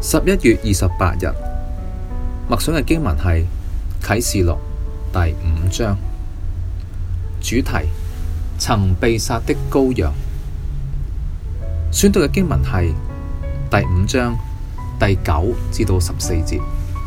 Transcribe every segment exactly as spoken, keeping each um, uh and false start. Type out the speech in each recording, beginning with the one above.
十一月二十八日默想嘅經文係啟示錄第五章，主題曾被殺的羔羊。選讀嘅經文係第五章第九至到十四節。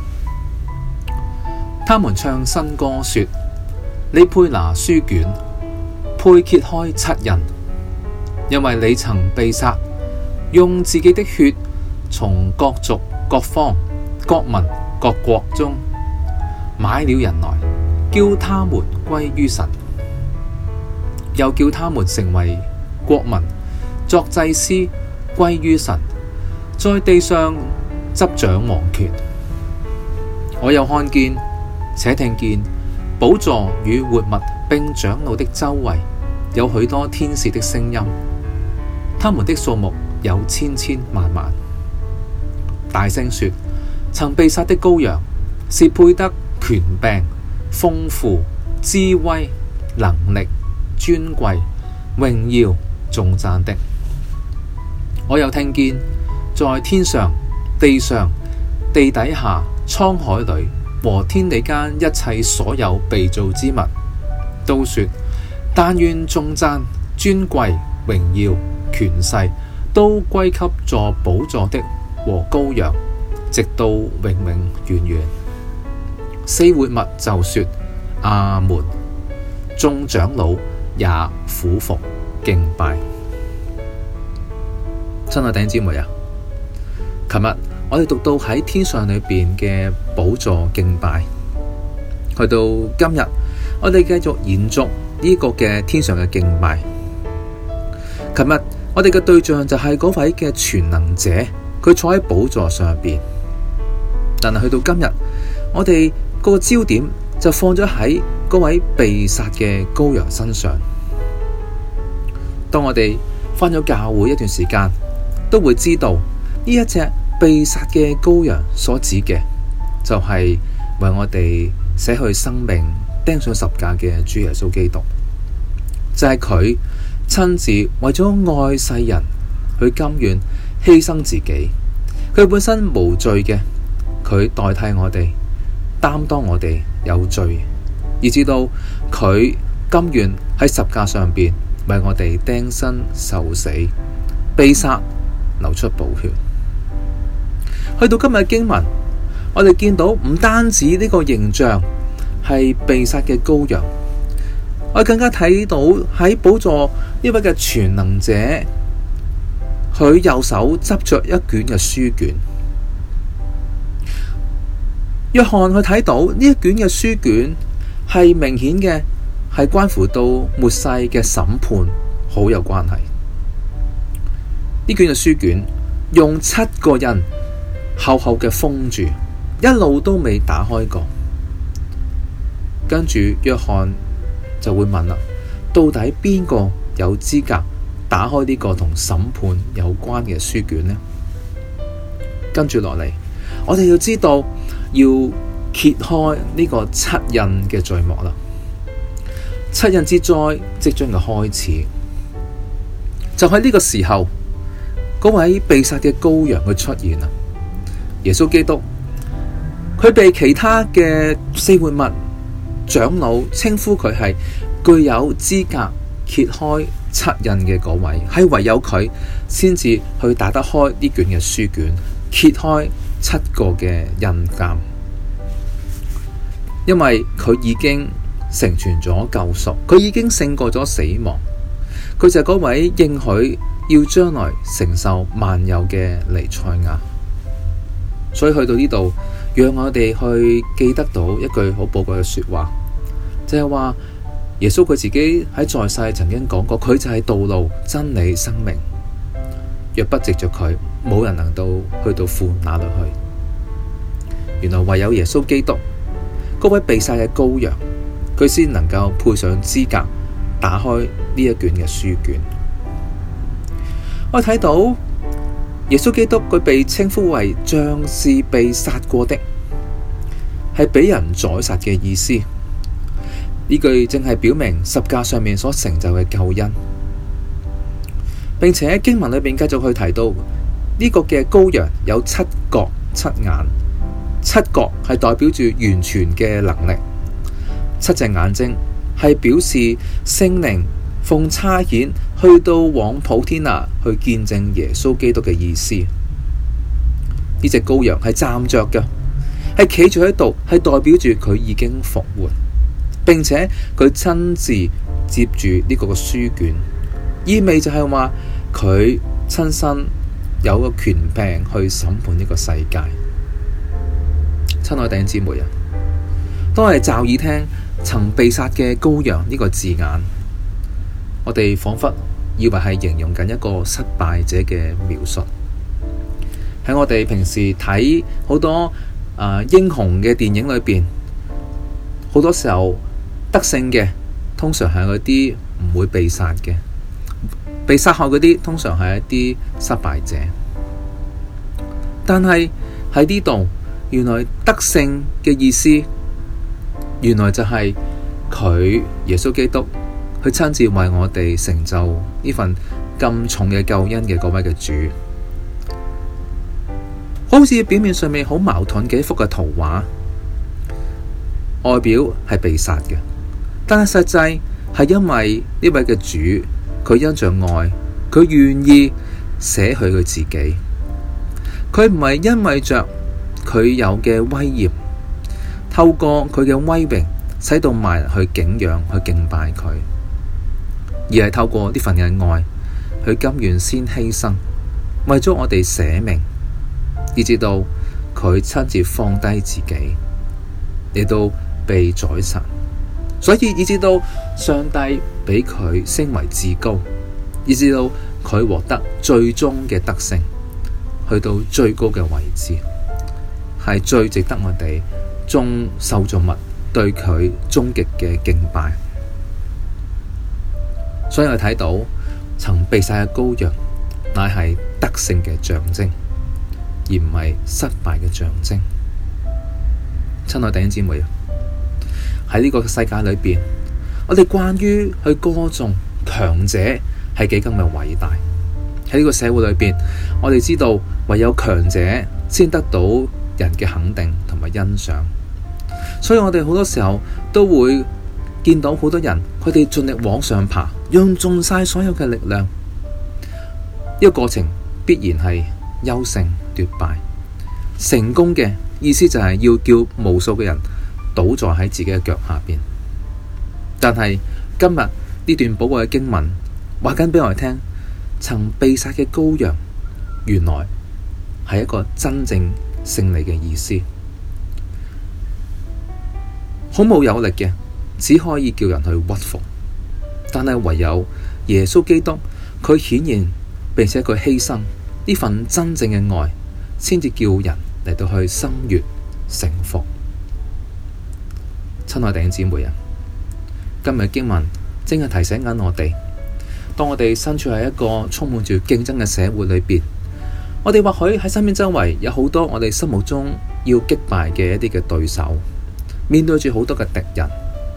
他們唱新歌說：你配拿書卷，配揭開七印，因為你曾被殺，用自己的血從各族、各方、各民、各國中買了人來，叫他們歸於神，又叫他們成為國民，作祭司，歸於神，在地上執掌王權。我又看見且聽見寶座與活物並長老的周圍有許多天使的聲音，他們的數目有千千萬萬，大聲說：曾被殺的羔羊是配得權柄、豐富、智慧、能力、尊貴、榮耀、頌讚的。我又聽見在天上、地上、地底下、滄海裡和天地間一切所有被造之物，都說：但願頌讚、尊貴、榮耀、權勢都歸給坐寶座的和羔羊，直到永永遠遠。四活物就說：阿門。眾長老也俯伏敬拜。親愛弟兄姊妹啊，琴日我哋讀到喺天上裏邊嘅寶座敬拜，去到今日我哋繼續延續呢個嘅天上嘅敬拜。琴日我哋嘅對象就係嗰位嘅全能者，佢坐喺寶座上邊。但係去到今日，我哋個焦點就放咗喺嗰位被殺嘅羔羊身上。當我哋返咗教會一段時間，都會知道呢一隻被殺嘅羔羊所指嘅，就係為我哋捨去生命釘上十架嘅主耶穌基督。就係佢親自為咗愛世人，佢甘願犧牲自己。佢本身無罪嘅，佢代替我哋擔當我哋有罪，以至到佢甘願喺十架上邊為我哋釘身受死、被殺、流出寶血。去到今日嘅經文，我哋見到唔單止呢個形象係被殺嘅羔羊，我更加睇到喺寶座呢位嘅全能者，佢右手執着一卷嘅書卷。約翰佢睇到呢一卷嘅書卷係明顯嘅，係關乎到末世嘅審判，好有關係。呢卷嘅書卷用七個印厚厚嘅封住，一路都未打開過。跟住約翰就會問啦，到底邊個有資格打開呢個同審判有關嘅書卷呢？跟住落嚟，我哋要知道要揭開呢個七印嘅序幕啦。七印之災即將嘅開始，就喺呢個時候，嗰位被殺嘅羔羊佢出現啦。耶穌基督，佢被其他嘅四活物長老稱呼佢係具有資格揭開七印嘅嗰位，係唯有佢先至去打得開呢卷嘅書卷，揭開七個嘅印鑑，因為佢已經成全咗救贖，佢已經勝過咗死亡，佢就係嗰位應許要將來承受萬有嘅彌賽亞。所以去到呢度，讓我哋去記得到一句好寶貴嘅說話，就係話耶穌佢自己喺在世曾經講過，佢就係道路、真理、生命，若不藉着佢，冇人能到去到父那裏去。原來唯有耶穌基督嗰位被殺嘅羔羊，佢先能夠配上資格打開呢一卷嘅書卷。我睇到耶穌基督佢被稱呼為像是被殺過的，係俾人宰殺嘅意思。呢句正係表明十架上面所成就嘅救恩，並且經文裏邊繼續去提到呢個嘅羔羊有七角七眼，七角係代表住完全嘅能力，七隻眼睛係表示聖靈奉差遣去到往普天下去見證耶穌基督嘅意思。呢隻羔羊係站着嘅，係企住喺度，係代表住佢已經復活，並且佢親自接住呢個嘅書卷，意味就係話佢親身有個權柄去審判呢個世界。親愛弟兄姊妹啊，當我哋驟耳聽曾被殺嘅羔羊呢個字眼，我哋仿佛以為係形容緊一個失敗者嘅描述。喺我哋平時睇好多、呃、英雄嘅電影裏邊，好多時候得勝嘅通常係嗰啲唔會被殺嘅，被殺害嗰啲通常係一啲失敗者。但係喺呢度，原來得勝嘅意思，原來就係佢耶穌基督，佢親自為我哋成就呢份咁重嘅救恩嘅嗰位嘅主。好似表面上面好矛盾嘅一幅嘅圖畫，外表係被殺嘅，但係實際係因為呢位嘅主，佢因着愛，佢願意捨去佢自己。佢唔係因為着佢有嘅威嚴，透過佢嘅威榮，使到萬人去敬仰、去敬拜佢，而係透過呢份嘅愛，佢甘願先犧牲，為咗我哋捨命。以至到佢親自放低自己，嚟到被宰殺，所以以至到上帝俾佢升為至高，以至到佢獲得最終嘅得勝，去到最高嘅位置，係最值得我哋眾受造物對佢終極嘅敬拜。所以我睇到曾被殺嘅羔羊，乃係得勝嘅象徵，而唔係失敗嘅象徵。親愛弟兄姊妹，喺呢個世界裏邊，我哋慣於去歌頌強者係幾咁嘅偉大。喺呢個社會裏邊，我哋知道唯有強者先得到人嘅肯定同埋欣賞，所以我哋好多時候都會見到好多人，佢哋盡力往上爬，用盡晒所有嘅力量。呢個過程必然係優勝奪敗，成功嘅意思就係要叫無數嘅人倒在喺自己嘅腳下邊。但係今日呢段寶貴嘅經文話緊俾我哋聽，曾被殺嘅羔羊原來係一個真正勝利嘅意思，好冇有力嘅，只可以叫人去屈服。但係唯有耶穌基督，佢顯現並且佢犧牲呢份真正嘅愛，先至叫人嚟到去心悅誠服。親愛弟兄姊妹啊，今日經文正係提醒緊我哋，當我哋身處喺一個充滿住競爭嘅社會裏邊，我哋或許喺身邊周圍有好多我哋心目中要擊敗嘅一啲嘅對手，面對住好多嘅敵人，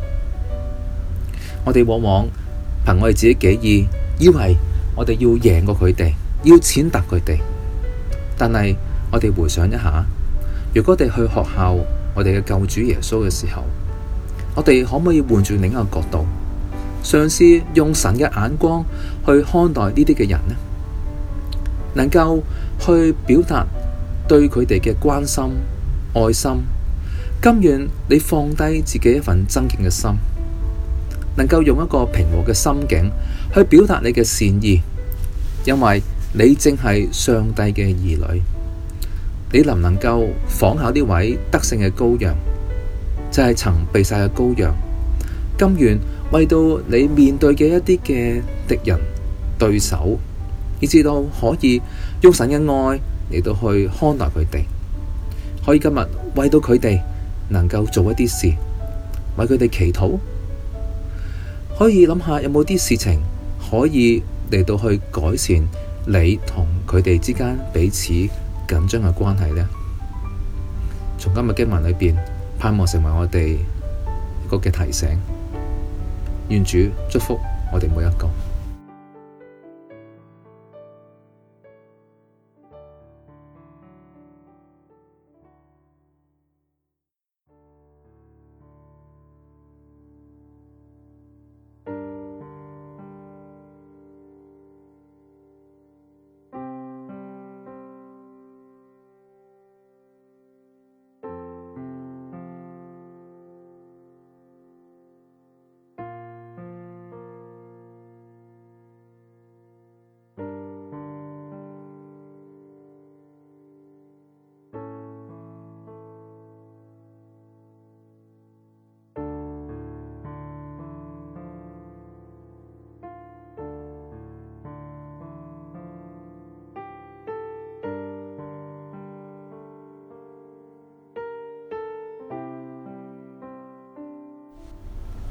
我哋往往憑我哋自己己意，以為我哋要贏過佢哋，要踐踏佢哋。但係我哋回想一下，如果我哋去學效我哋嘅救主耶穌嘅時候，我哋可唔可以換轉另一個角度，嘗試用神嘅眼光去看待呢啲嘅人呢？能夠去表達對佢哋嘅關心、愛心，甘願你放低自己一份爭競嘅心，能夠用一個平和嘅心境去表達你嘅善意，因為你正係上帝嘅兒女。你能唔能夠仿效呢位得勝嘅羔羊，就係、是、曾被殺嘅羔羊，甘願為到你面對嘅一啲嘅敵人對手，以至到可以用神嘅愛嚟到去看待佢哋，可以今日為到佢哋能夠做一啲事，為佢哋祈禱，可以諗下有冇啲事情可以嚟到去改善你同佢哋之間彼此緊張嘅關係呢？從今日經文裏邊，盼望成為我哋一個嘅提醒。願主祝福我哋每一個。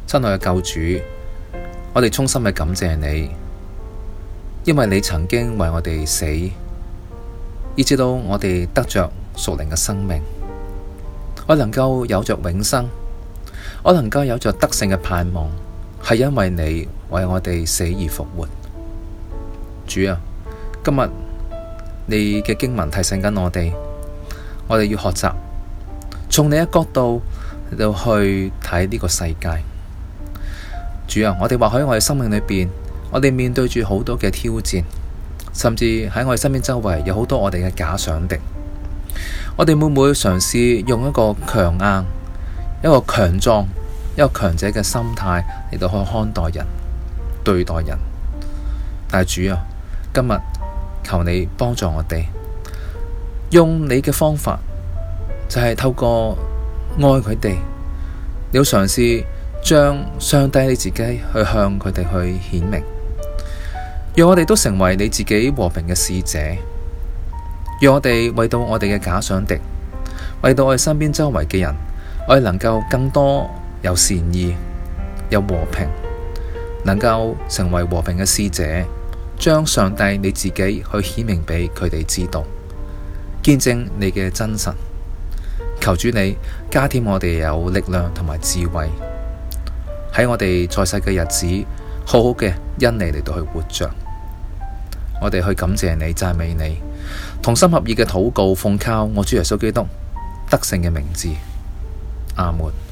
親愛嘅救主，我哋衷心嘅感謝你，因為你曾經為我哋死，以至到我哋得着屬靈嘅生命，我能夠有着永生，我能夠有着得勝嘅盼望，係因為你為我哋死而復活。主啊，今日你嘅經文提醒緊我哋，我哋要學習從你嘅角度嚟到去睇呢個世界。主啊，我哋或許我哋生命裏邊，我哋面對住好多嘅挑戰，甚至喺我哋身邊周圍有好多我哋嘅假想敵。我哋會唔會嘗試用一個強硬、一個強壯、一個強者嘅心態嚟到去看待人、對待人？但係主啊，今日求你幫助我哋，用你嘅方法，就係透過愛佢哋，你要嘗試將上帝你自己去向佢哋去顯明，讓我哋都成為你自己和平嘅使者，讓我哋為到我哋嘅假想敵，為到我哋身邊周圍嘅人，我哋能夠更多有善意、有和平，能夠成為和平嘅使者，將上帝你自己去顯明俾佢哋知道，見證你嘅真實。求主你加添我哋有力量同埋智慧，喺我哋在世嘅日子，好好嘅因你嚟到去活着。我哋去感謝你、讚美你，同心合意嘅禱告，奉靠我主耶穌基督得勝嘅名字，阿門。